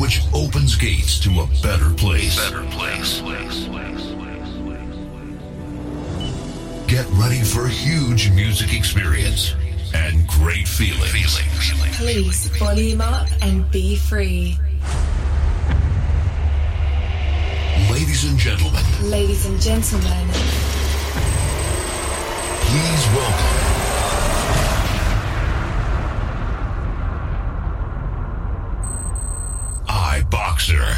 which opens gates to a better place. Get ready for a huge music experience and great feelings. Please volume up and be free. Ladies and gentlemen. Please welcome iBoxer.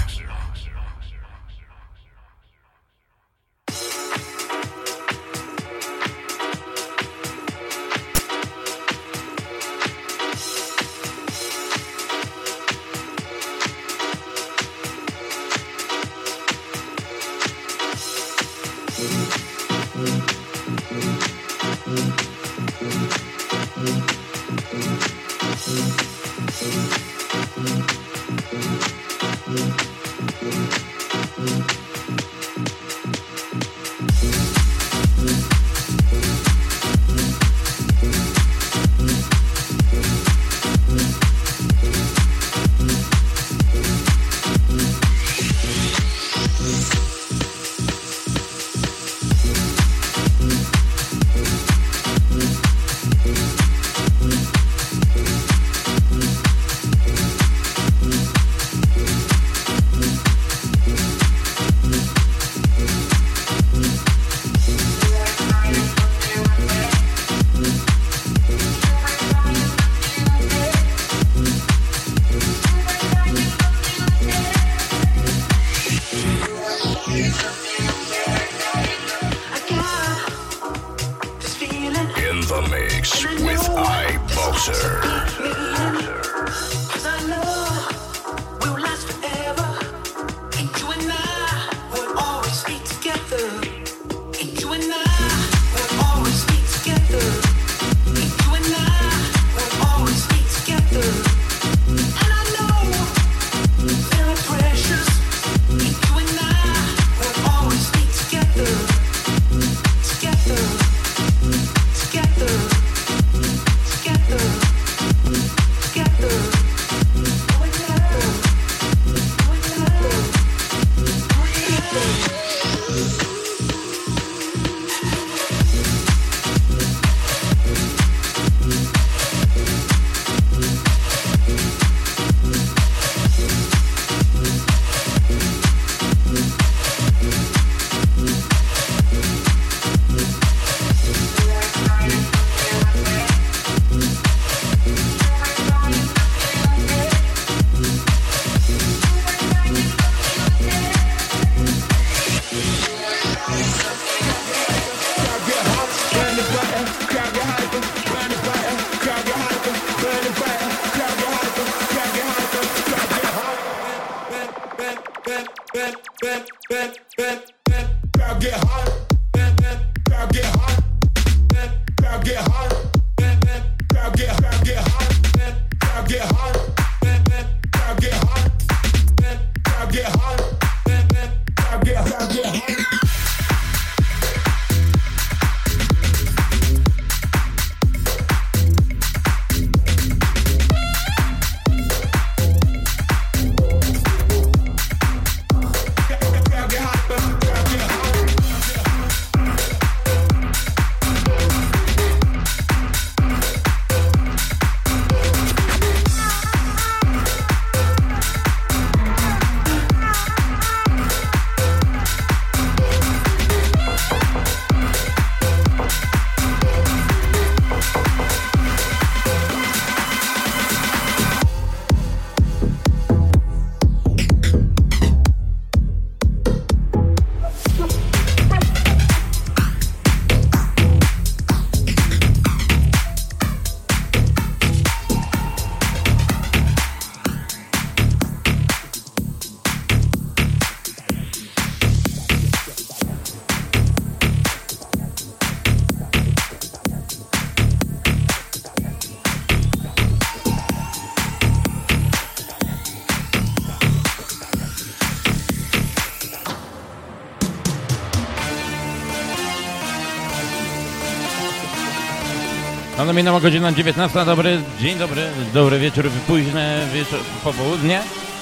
No minęła godzina 19, dobry dzień, dobry wieczór, późne wieczór, popołudnie.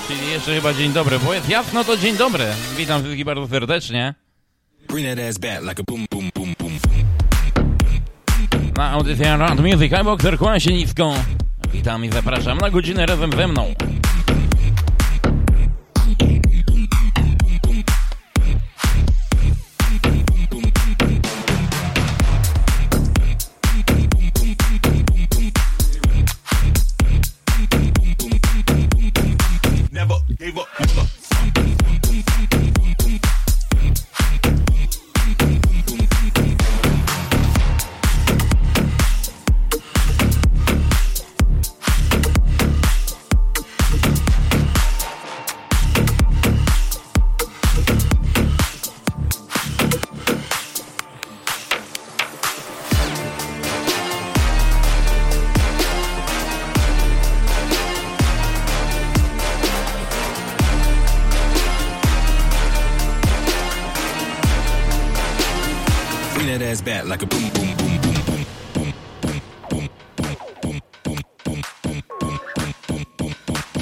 Czyli jeszcze chyba dzień dobry, bo jest jasno, to dzień dobry. Witam wszystkich bardzo serdecznie. Na audycję Rad Music, iBoxer, kłania się nisko. Witam i zapraszam na godzinę razem ze mną. Like a boom, boom, boom, boom, boom, boom, boom, boom, boom, boom, boom, boom, boom, boom, boom,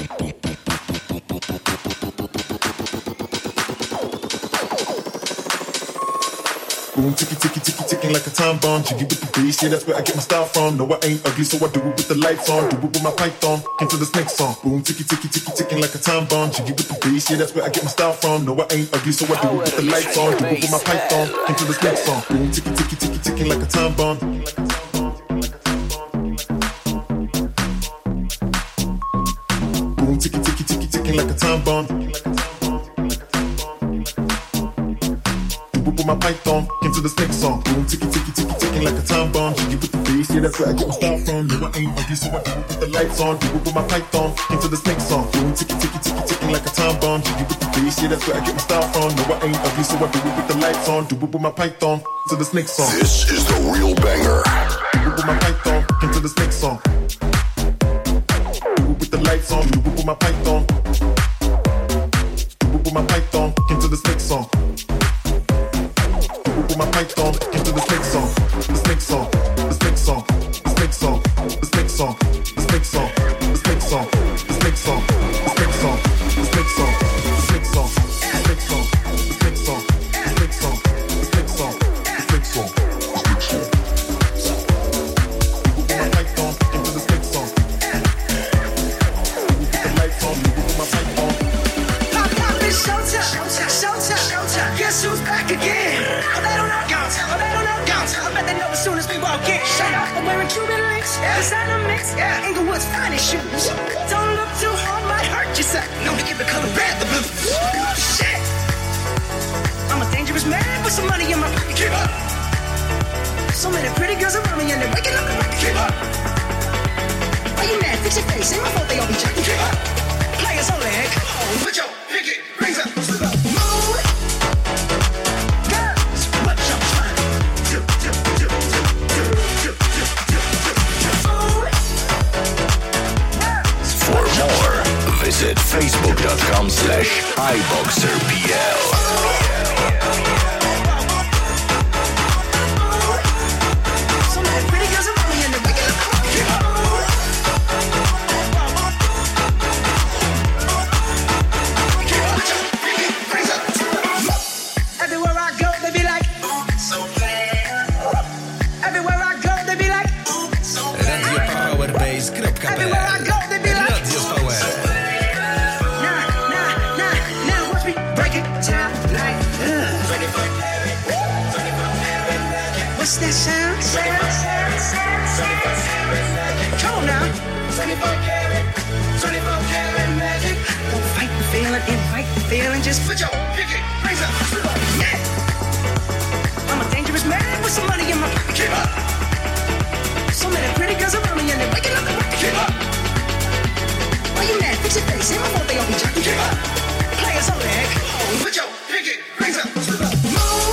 boom, ticky, ticky, ticky, ticking like a time bomb. Jiggy with the bass, yeah, that's where I get my style from. No, I ain't ugly, so I do it with the lights on. Do it with my python, into the snake song. Boom, ticky, ticky, ticky, ticking like a time bomb. Jiggy with the bass, yeah, that's where I get my style from. No, I ain't ugly, so I do it with the lights on. Do it with my python, into the snake song. Boom, ticky, ticky, ticky, ticking like a time bomb. Boom, ticky, ticky, ticky, ticking like a time bomb. With my python, into the snake song. Boom, ticky, ticky, ticky, ticking like a time bomb. Jiggy with the bass, yeah, that's where I get my style from. No, I ain't ugly, so I do it with the lights on. Do it with my python, into the snake song. Boom, ticky, ticky, ticky, ticking like a time bomb. Jiggy with the bass, yeah, that's where I get my style from. No, I ain't ugly, so I do it with the lights on. Do it with my python, into the snake song. This is the real banger. Do it with my python, into the snake song. Do it with the lights on. Do it with my python. Do it with my python, into the snake song. With my python into the snake song, the snake song, the snake song, the snake song, the snake song, the snake song, the snake song, the snake song, the snake song, the snake song, the snake song, the snake song, the snake song, the snake song, the snake song, the snake song, with my python into the snake song. With the lights on, with my python. Pop, it's showtime, showtime. Guess who's back again? I bet they know as soon as we walk in. Shut up, I'm wearing Cuban links. Designer mix, Inglewood's finest shoes. Don't look too hard, might hurt yourself. Known to give the color red the blue. Shit, I'm a dangerous man with some money in my pocket. Keep up. So many pretty girls around me and they're waking up the rocket. Keep up. Why you mad? Fix your face. Ain't my fault they all be jacking. Keep up. Players only, come on, put your pinky rings up. Move. Visit facebook.com/iBoxerPL. What's that sound? Come on now. 24 karat magic. Don't fight the feeling, invite the feeling. Just put your pinky rings up. Yeah. I'm a dangerous man with some money in my pocket. Keep up. So many pretty girls around me and they're waking up the rocket. Keep up. Why you mad? Fix your face. Ain't my fault they all be jacking. Keep up. Players only. Come on, put your pinky rings up. Move.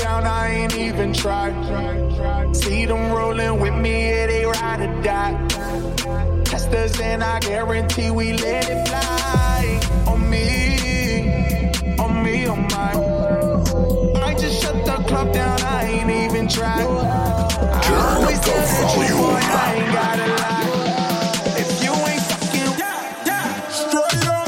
down, I ain't even tried. See them rolling with me, yeah, they ride or die. Test us and I guarantee we let it fly. On me, on mine. I just shut the club down, I ain't even tried. I always tell the truth, boy, I ain't gotta lie. If you ain't fucking, straight up.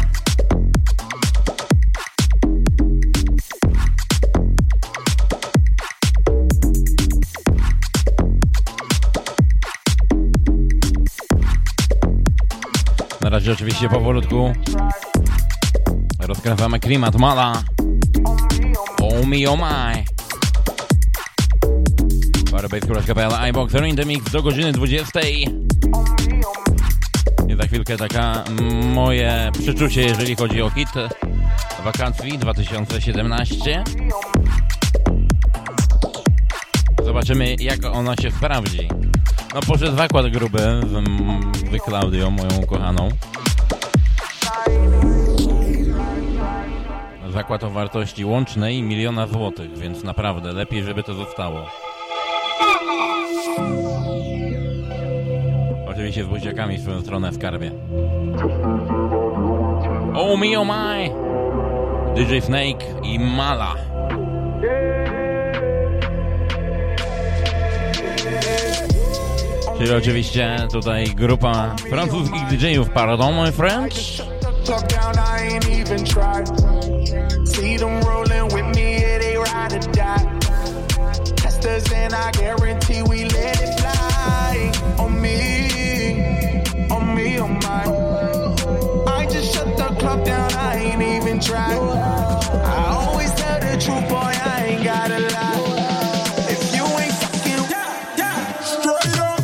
Na razie oczywiście powolutku rozkręcamy klimat Mala. Oh me, oh my. Firebase.pl, iBoxer in the mix do godziny 20. I za chwilkę taka moje przeczucie, jeżeli chodzi o hit wakacji 2017. Zobaczymy, jak ona się sprawdzi. No poszedł zakład gruby z Klaudią, moją kochaną. Zakład o wartości łącznej 1 000 000 złotych, więc naprawdę lepiej, żeby to zostało. Oczywiście z buziakami w swoją stronę w skarbie. Oh me, oh my! DJ Snake i Mala. Czyli oczywiście tutaj grupa francuskich DJ-ów, pardon my French. See them rolling with me, yeah, they ride or die. Test us and I guarantee we let it fly. On me, on mine. I just shut the club down, I ain't even tried. I always tell the truth, boy, I ain't gotta lie. If you ain't fucking, straight up.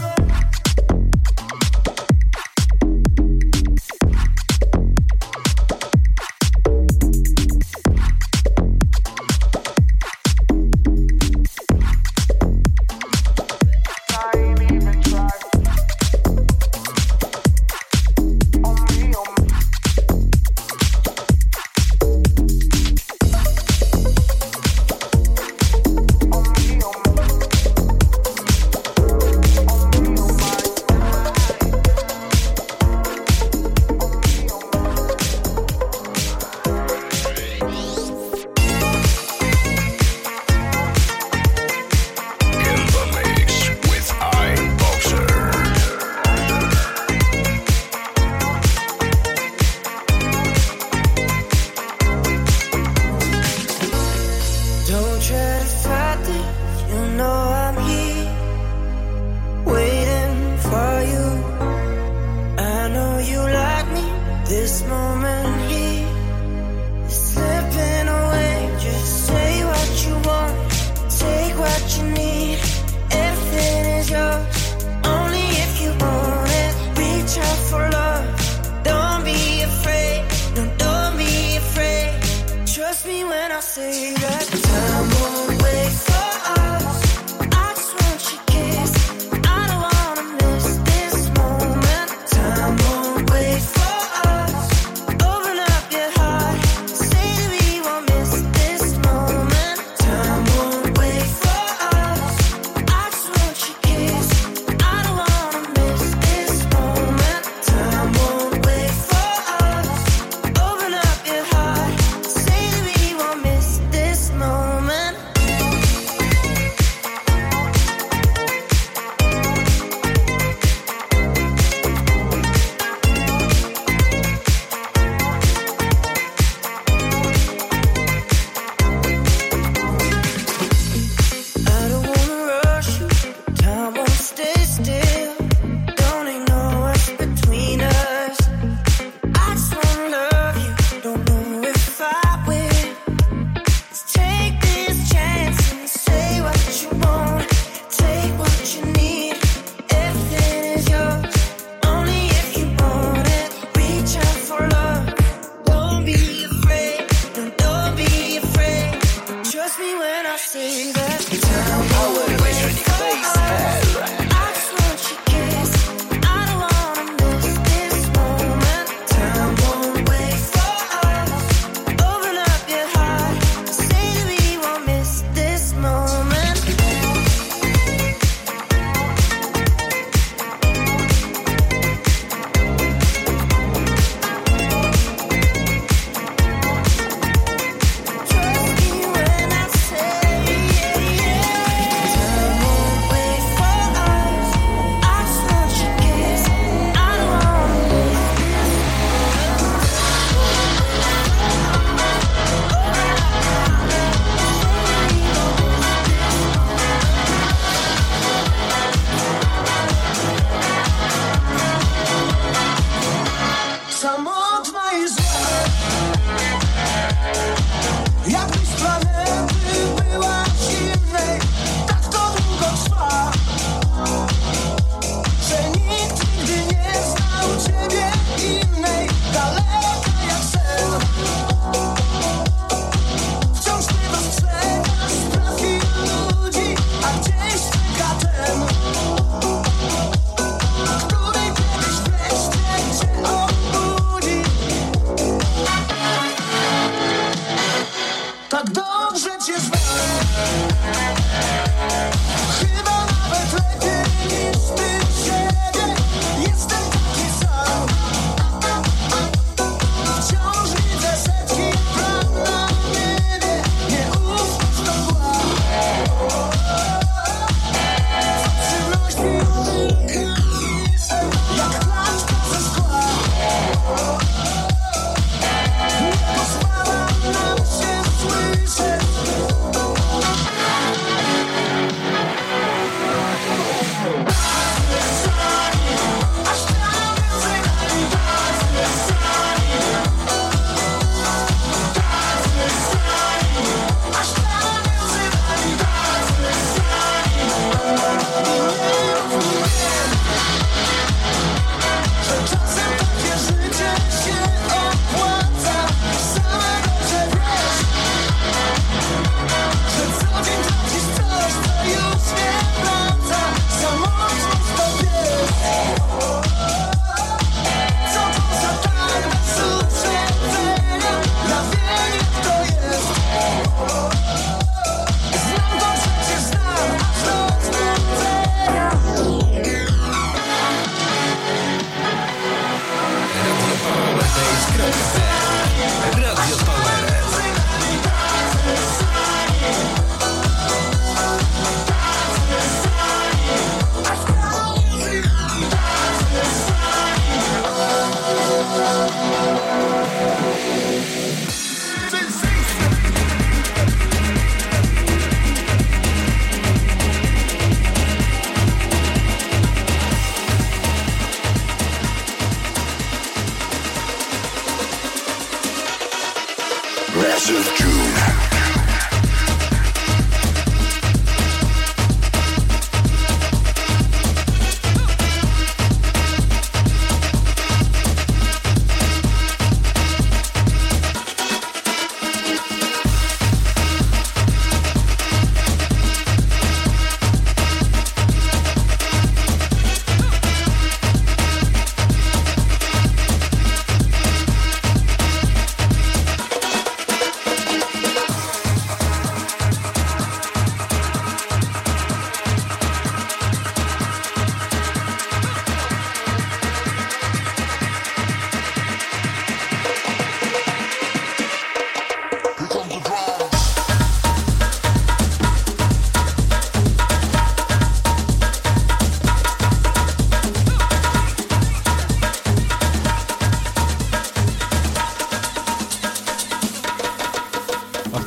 This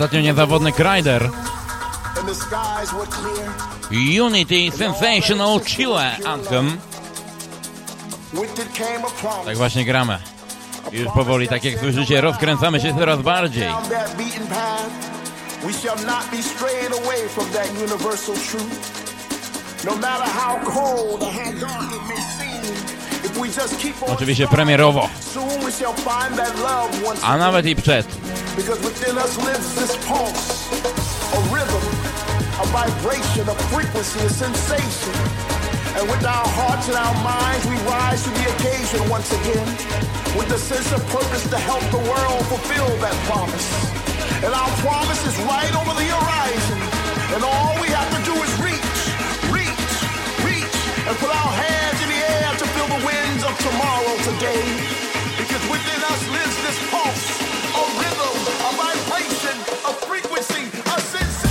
Ostatnio niezawodny Kryder. Unity Sensational Chile Anthem. Tak właśnie gramy. Już powoli, tak jak słyszycie, rozkręcamy się coraz bardziej. Oczywiście premierowo, a nawet i przed. A vibration, a frequency, a sensation. And with our hearts and our minds, we rise to the occasion once again. With the sense of purpose to help the world fulfill that promise. And our promise is right over the horizon. And all we have to do is reach, and put our hands in the air to feel the winds of tomorrow today. Because within us lives this pulse, a rhythm, a vibration, a frequency, a sensation.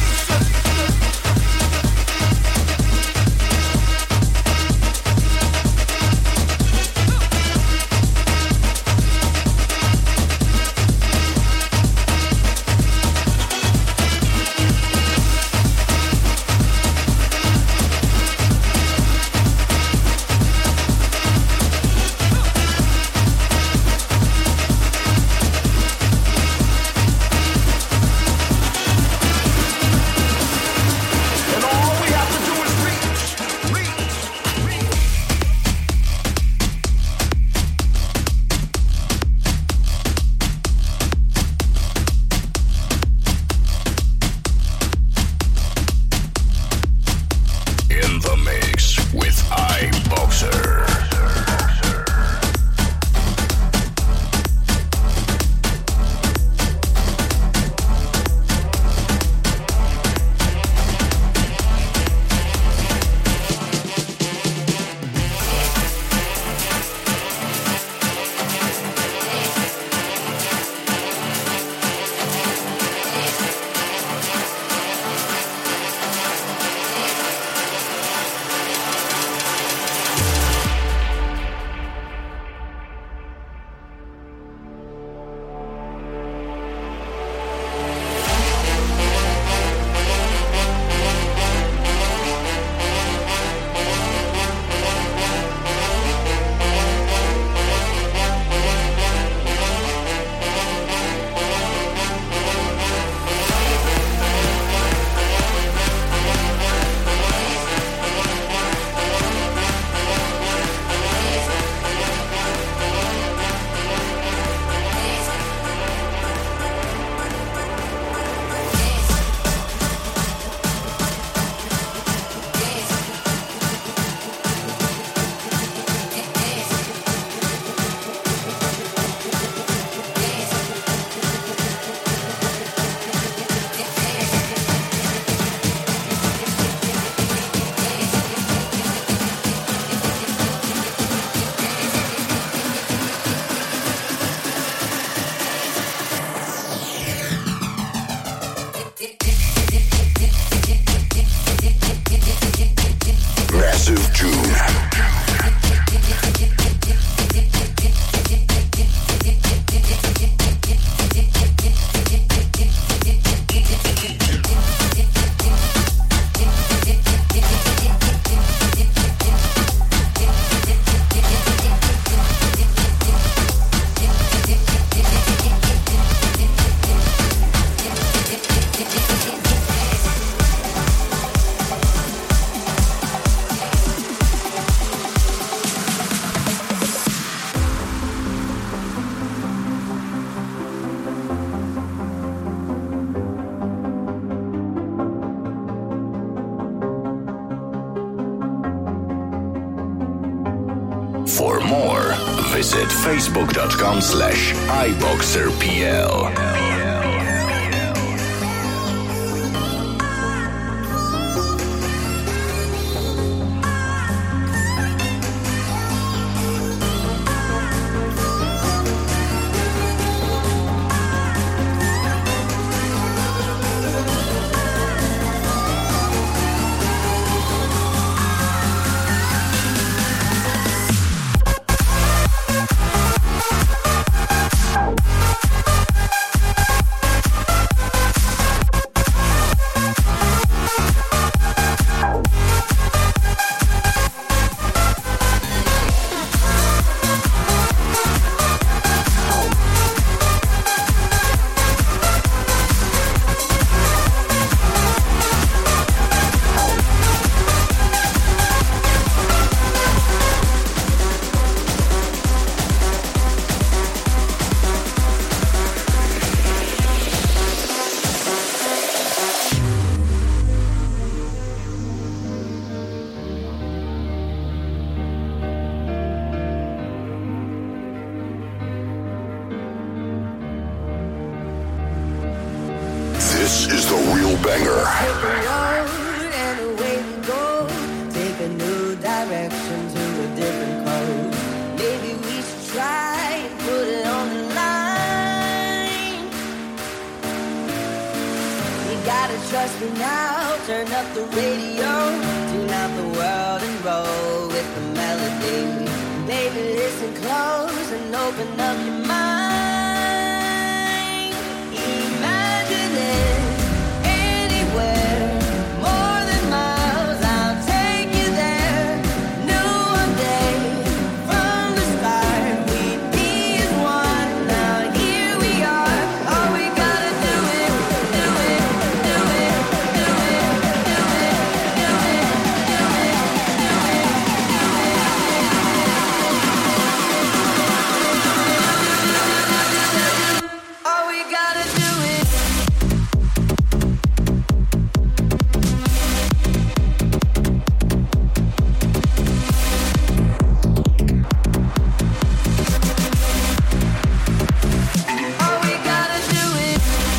For more, visit facebook.com/iboxerpl. trust me now, turn up the radio, tune out the world and roll with the melody. Baby, listen close and open up your mind. Imagine it anywhere, more than miles, I'll take you there. Knew one day from the start we'd be as one. Now here we are, all we gotta do it, do it, do it, do it, do it, do it, do it, do it, all we gotta do it. All we gotta do it.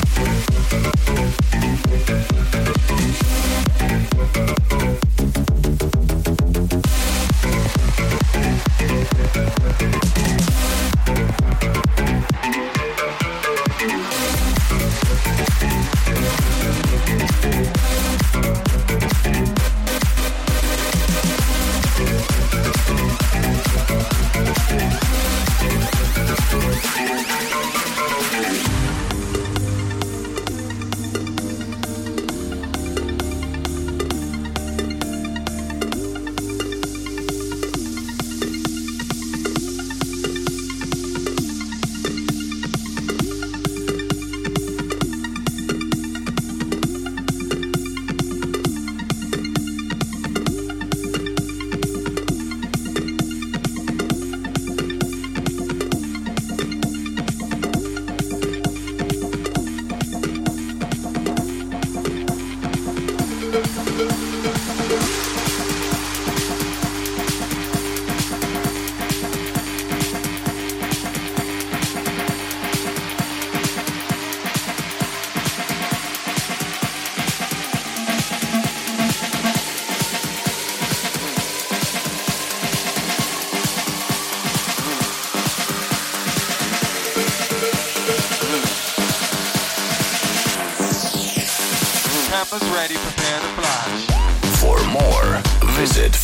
Cameras ready, prepare to flash. For more, visit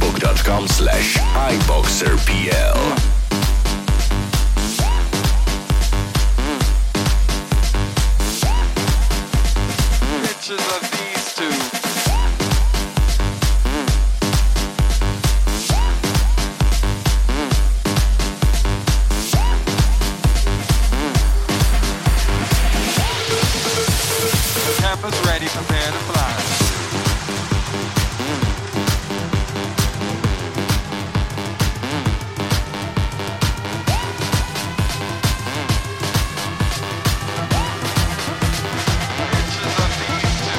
facebook.com/iBoxerPL. Pictures of these two. Cameras ready, prepare to flash. Pictures of these two.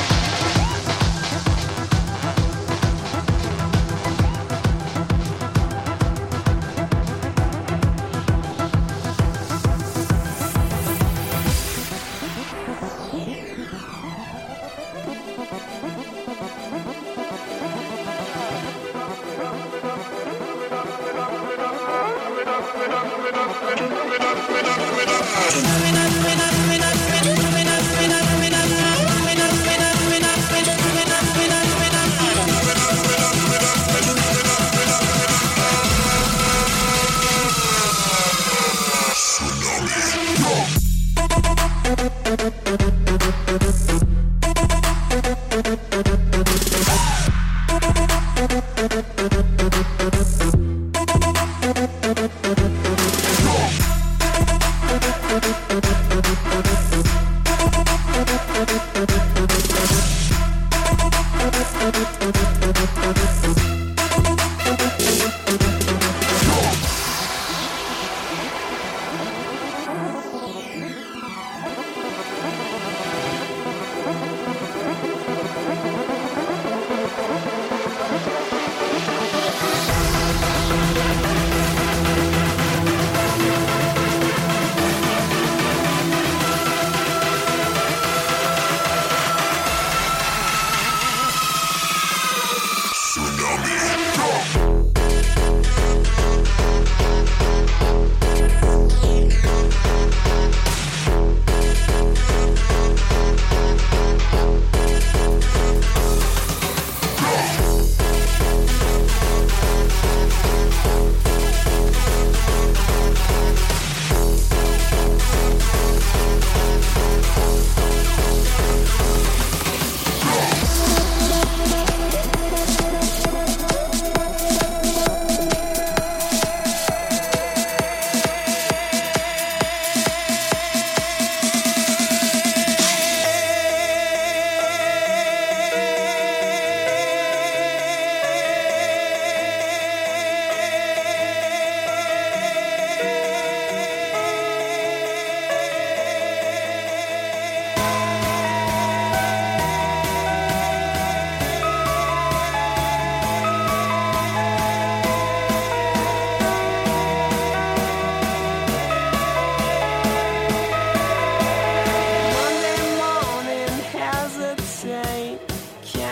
Tsunami.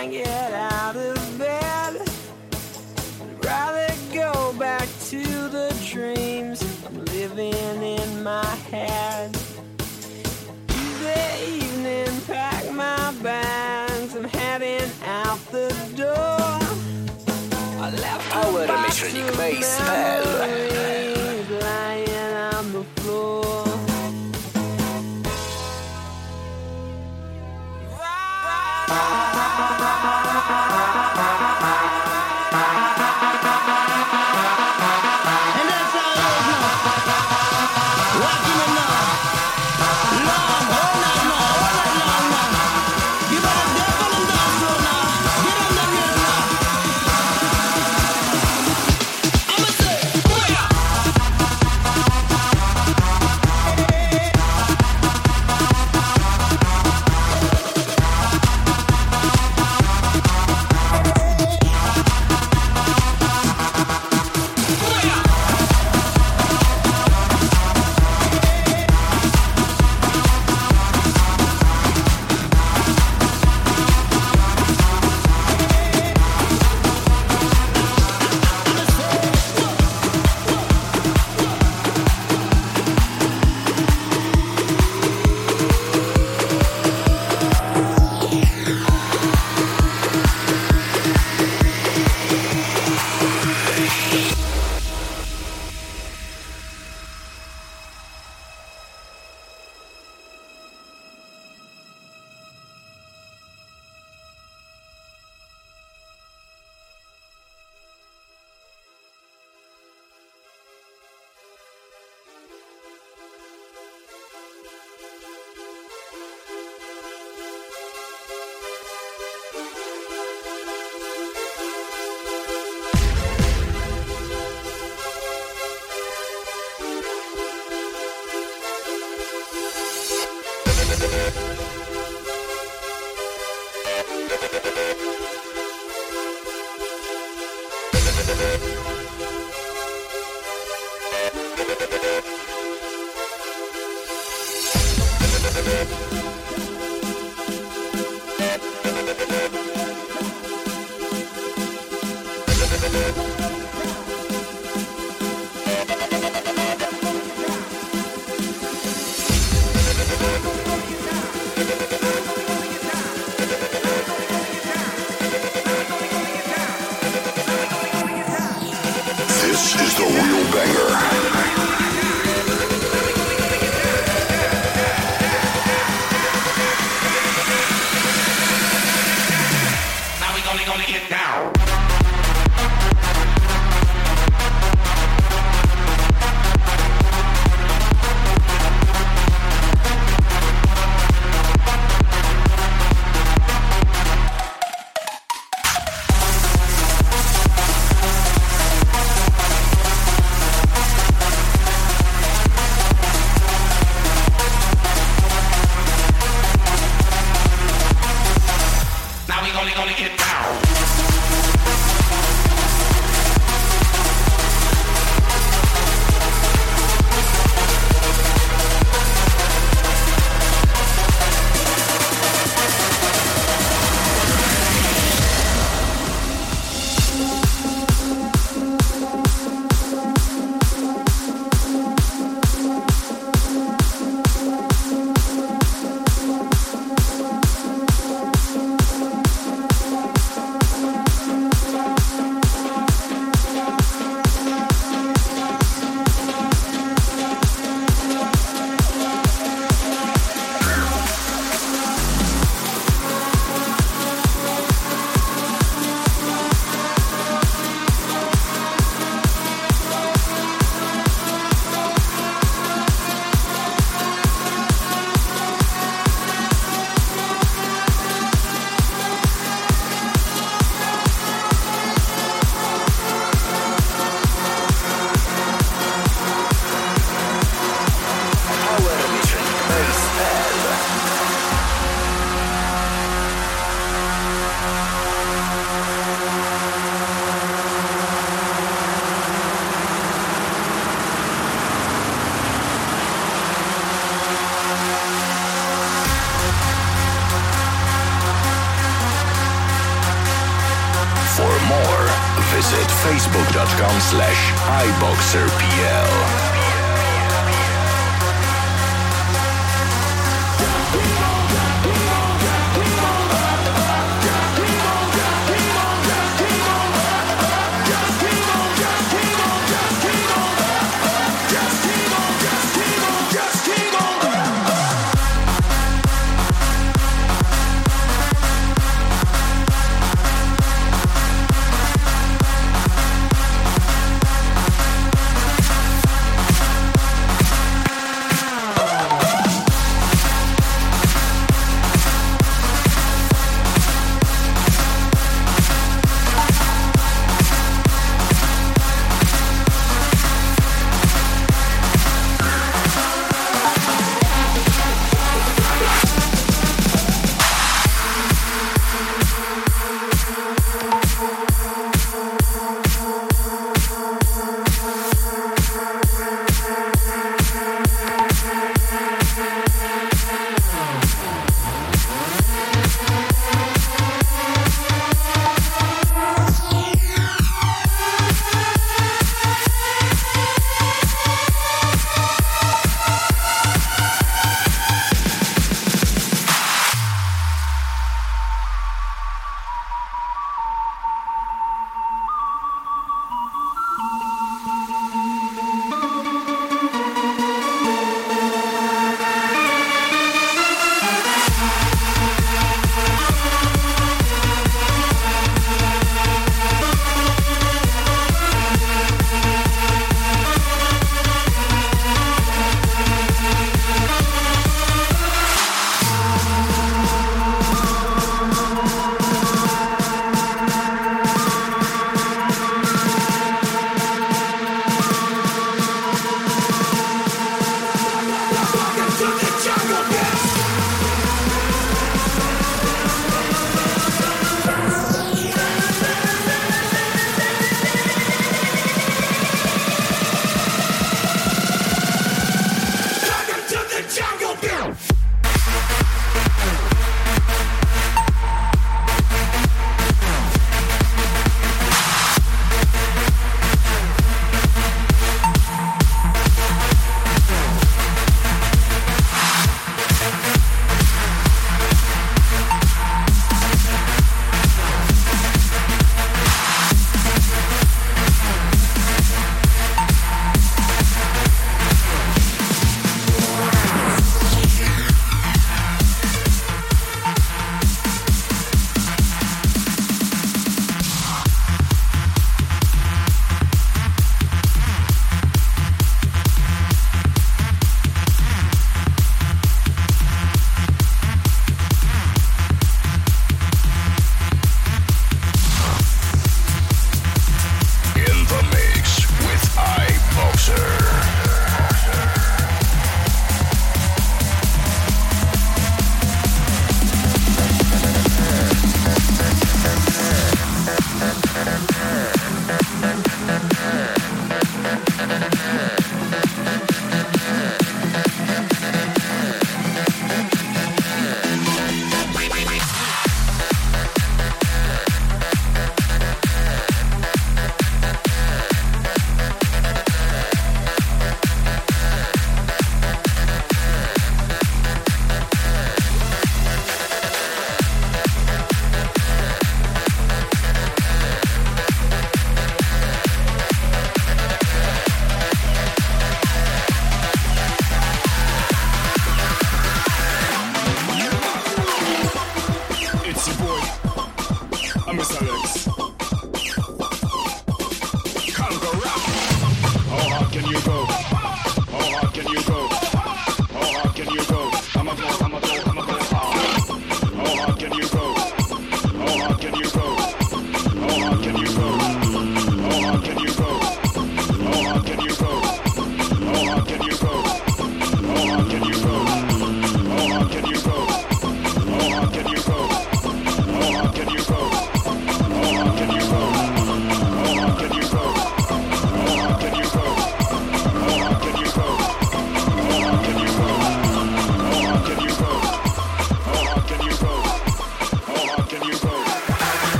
can't get out of bed. I'd rather go back to the dreams I'm living in my head. Tuesday evening, pack my bags, I'm heading out the door. I left Power Measuring Base memories lying on the floor. This is the real banger. Now we gonna get down. Now we gonna get down. visit facebook.com/iboxerpl.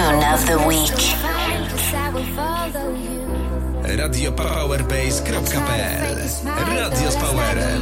Tune of the Week. RadioPowerBase.pl Radio z Powerem.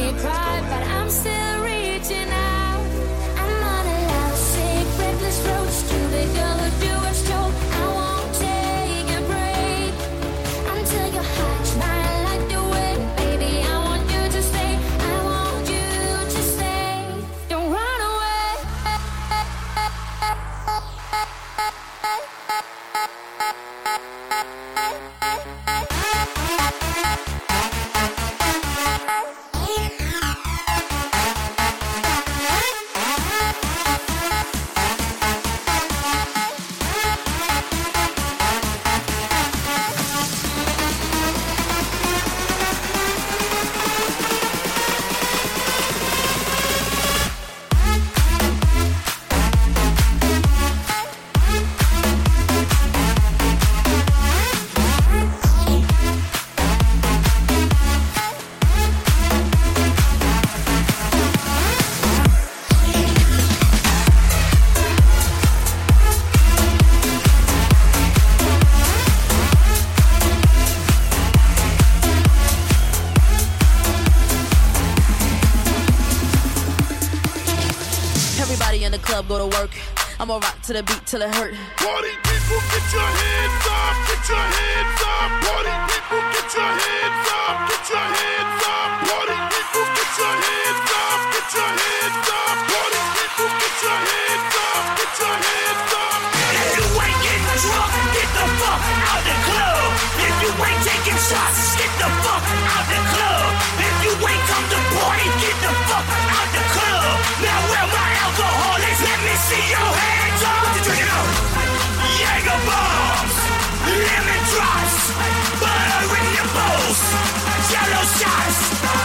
Go to work. I'ma rock to the beat till it hurt. Party people, get your hands up, get your hands up. Party people, get your hands up, get your hands up. Party people, get your hands up, get your hands up. Party people, get your hands up, get your hands up. If you ain't getting drunk, get the fuck out the club. If you ain't taking shots, get the fuck out the club. If you ain't come to party, get the fuck out the club. Now where my alcohol is, let me see your hands up. What you drinking up? Jaeger bombs, lemon drops, butter in your bowls, jello shots,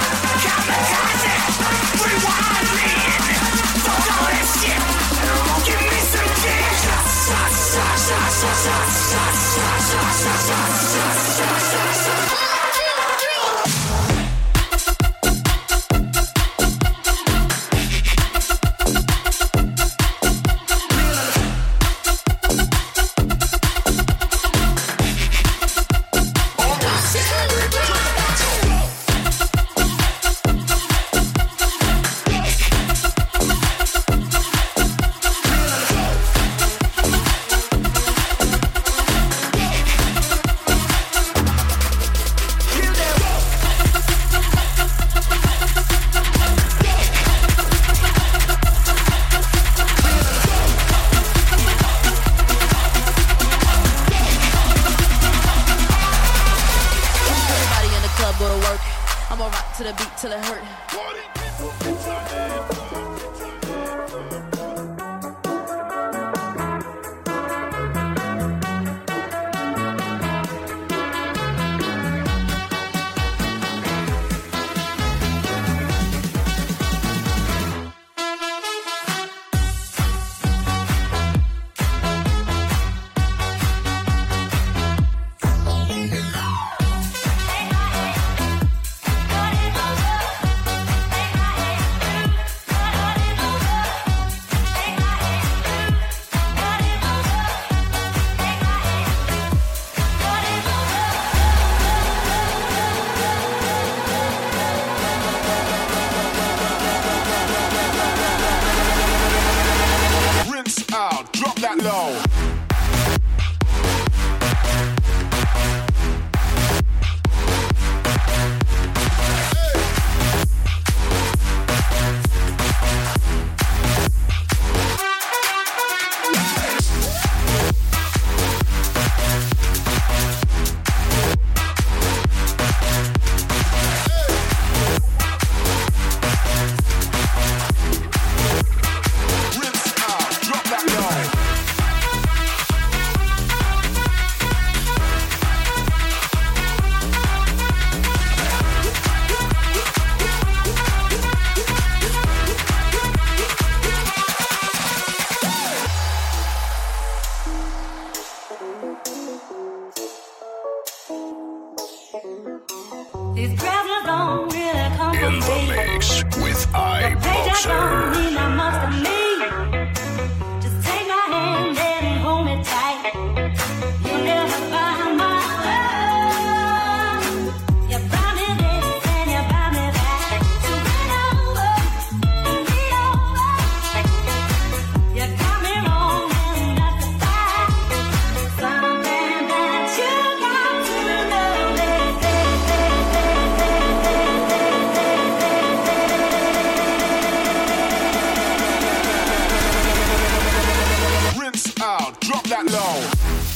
kamikaze, rewind man. Fuck all that shit. Give me some dick. Till it hurt. These presents don't really come from In the me. mix with iBoxer. Mean that much to me. Just take my hand and hold me tight. that low.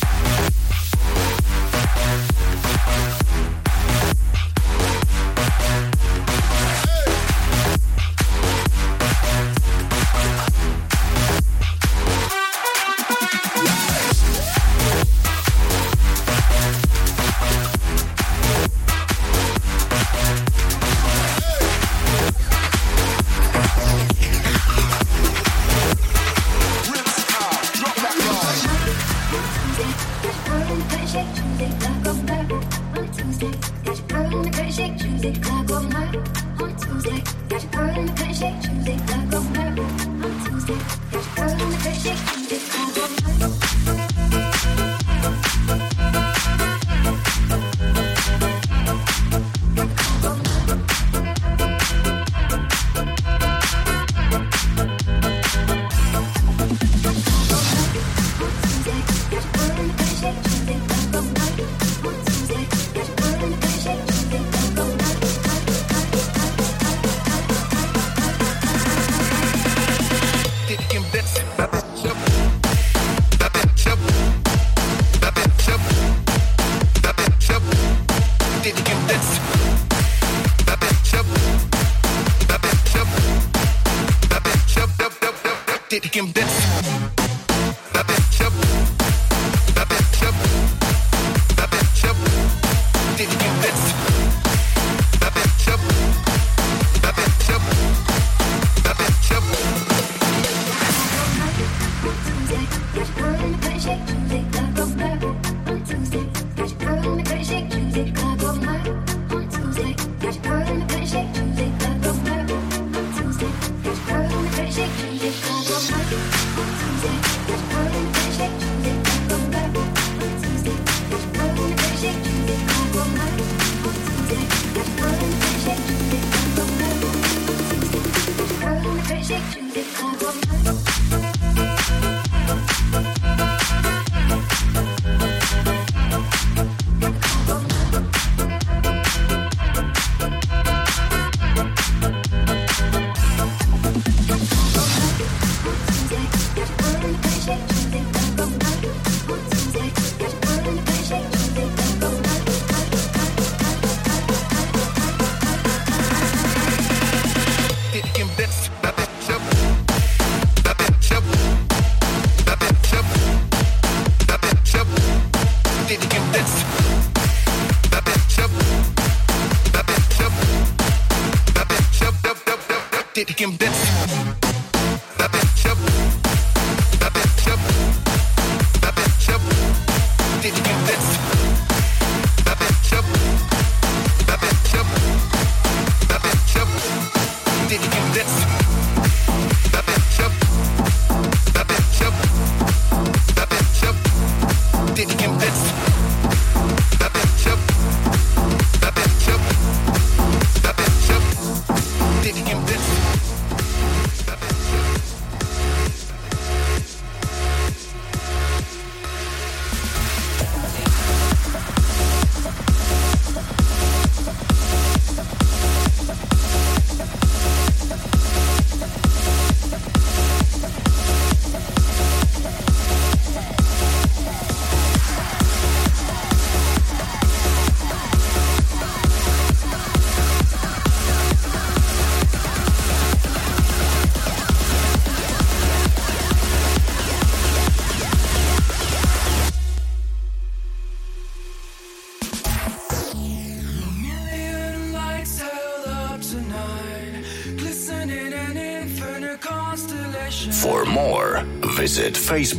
For more, visit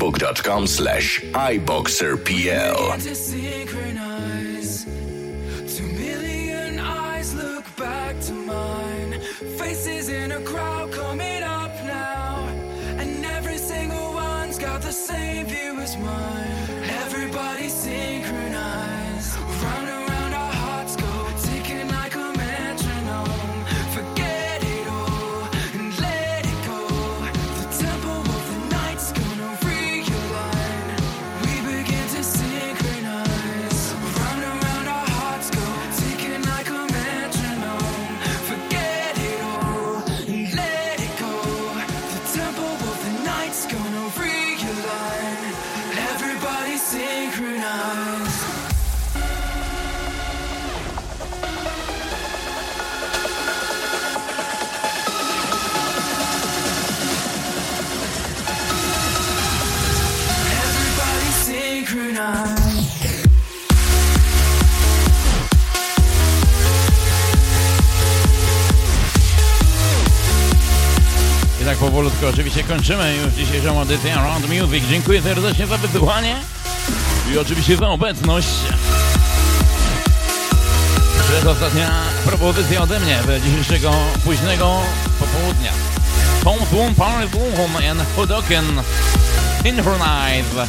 facebook.com/iboxerpl. Faces in a crowd coming up now, and every single one's got the same view as mine. Everybody synchronized, round and round our hearts go, ticking like a metronome. Forget it all and let it go. The tempo of the night's gonna realign. We begin to synchronize, round and round our hearts go, ticking like a metronome. Forget it all and let it go. The tempo of the night's gonna realign. Everybody I tak powolutku oczywiście kończymy już dzisiejszą edycję Around Music. Dziękuję serdecznie za wysłuchanie i oczywiście za obecność. Przedostatnia propozycja ode mnie w dzisiejszego późnego popołudnia. Tom Thum Party Boom and Hodoken Synchronize.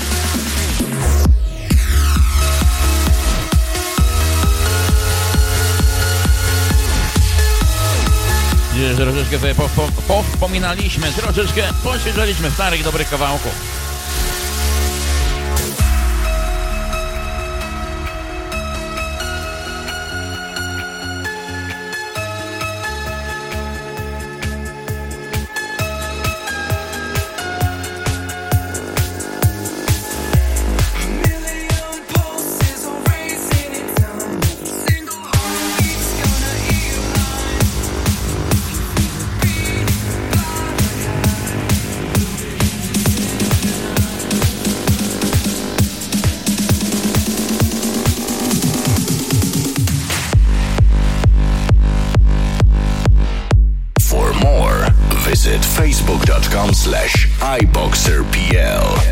Dzisiaj troszeczkę sobie powspominaliśmy, troszeczkę poświeżaliśmy starych, dobrych kawałków. Facebook.com/iBoxerPL.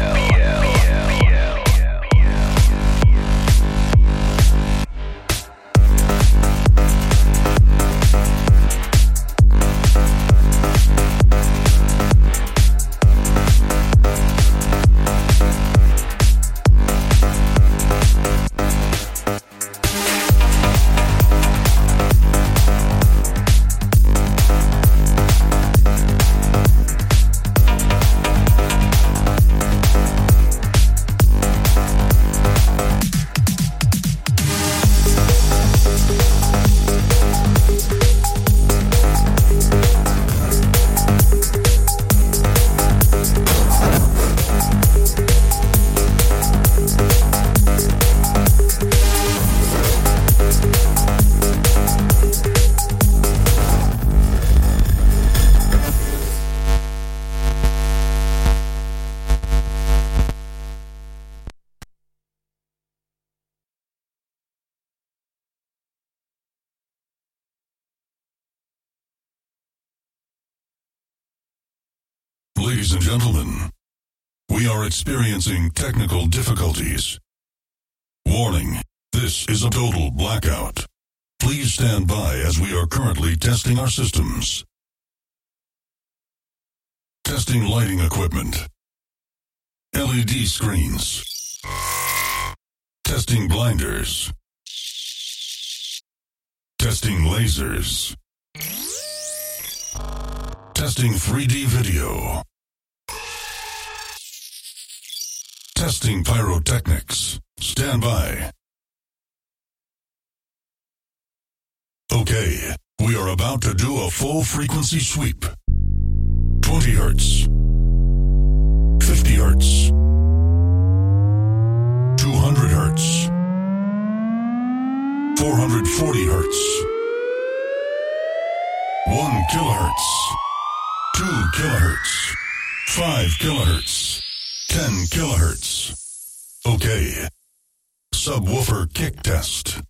Ladies and gentlemen, we are experiencing technical difficulties. Warning, this is a total blackout. Please stand by as we are currently testing our systems. Testing lighting equipment. LED screens. Testing blinders. Testing lasers. Testing 3D video. Testing pyrotechnics. Stand by. Okay, we are about to do a full frequency sweep. 20 hertz. 50 hertz. 200 hertz. 440 hertz. 1 kilohertz. 2 kilohertz. 5 kilohertz. 10 kilohertz. Okay. Subwoofer kick test.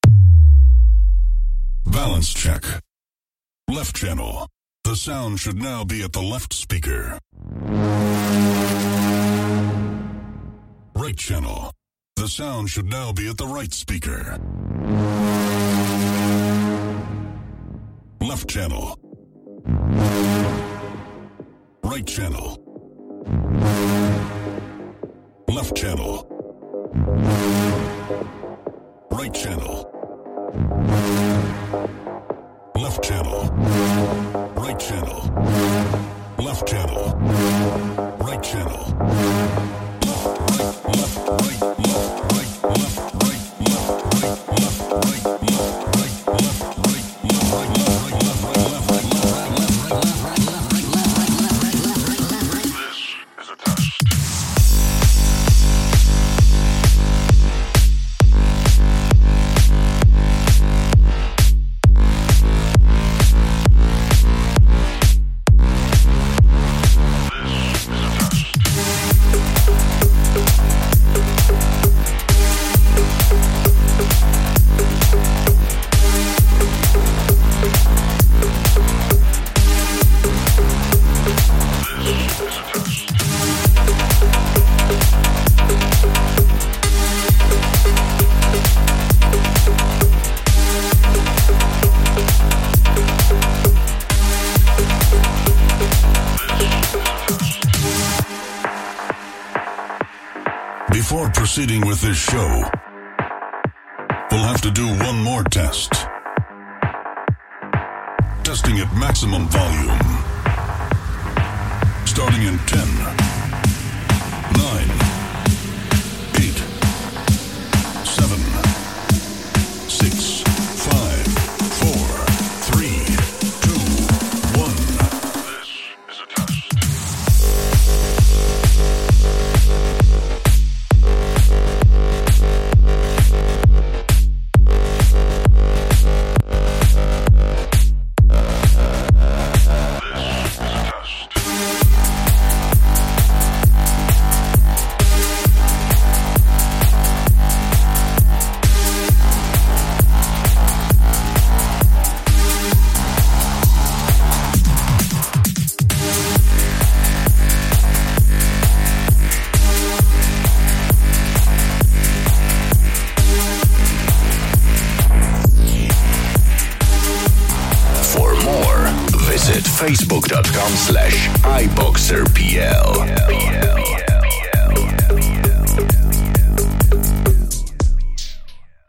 Balance check. Left channel. The sound should now be at the left speaker. Right channel. The sound should now be at the right speaker. Left channel. Right channel. Left channel. Right channel. Left channel. Right channel. Left channel. Right channel. Left, right, left, right, left, right, left, right, left, right, left, right, left, right, left, right, left, right, left, right, left, right, left, right, left, right, This is a test. Before proceeding with this show, we'll have to do one more test. Testing at maximum volume. Starting in 10, 9, 8, 7, 6, 5, 4, 3, 2, 1. This is a test. Facebook.com/iBoxerPL.